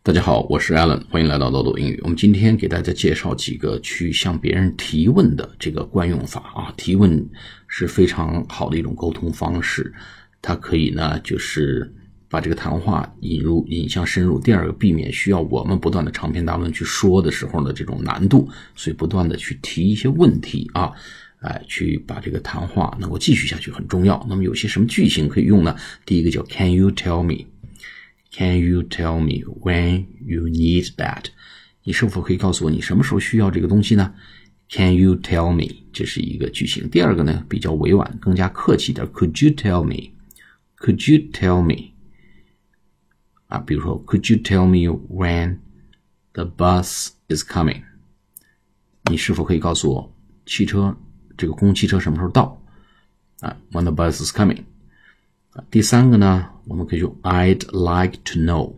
大家好，我是 Alan， 欢迎来到豆豆英语。我们今天给大家介绍几个去向别人提问的这个惯用法啊。提问是非常好的一种沟通方式，它可以呢就是把这个谈话引向深入。第二个，避免需要我们不断的长篇大论去说的时候的这种难度，所以不断的去提一些问题啊，去把这个谈话能够继续下去很重要。那么有些什么句型可以用呢？第一个叫 Can you tell me?Can you tell me when you need that? 你是否可以告诉我你什么时候需要这个东西呢？ Can you tell me? 这是一个句型。第二个呢比较委婉，更加客气一点。Could you tell me? Could you tell me? 比如说 Could you tell me when the bus is coming? 你是否可以告诉我这个公共汽车什么时候到？When the bus is coming.第三个呢，我们可以用 I'd like to know.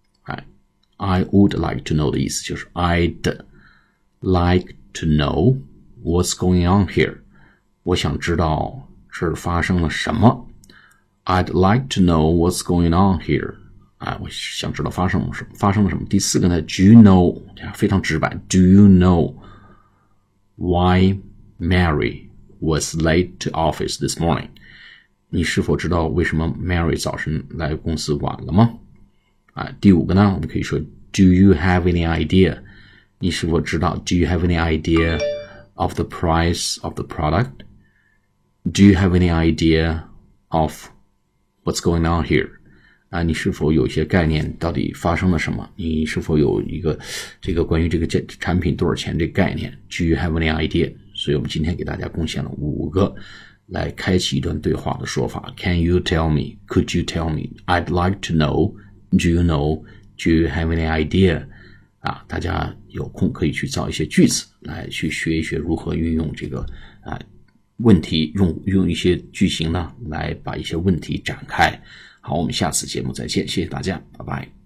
I would like to know 的意思就是 I'd like to know what's going on here. 我想知道这儿发生了什么。I'd like to know what's going on here. 我想知道发生了什么。第四个呢 Do you know 非常直白 Do you know why Mary was late to office this morning?你是否知道为什么 Mary 早晨来公司晚了吗？第五个呢，我们可以说 Do you have any idea? 你是否知道 Do you have any idea of the price of the product? Do you have any idea of what's going on here? 你是否有一些概念到底发生了什么？你是否有一个关于这个产品多少钱这个概念 Do you have any idea? 所以我们今天给大家贡献了5个来开启一段对话的说法。 Can you tell me? Could you tell me? I'd like to know. Do you know? Do you have any idea? 大家有空可以去造一些句子来去学一学如何运用这个问题，用一些句型呢来把一些问题展开。好，我们下次节目再见，谢谢大家，拜拜。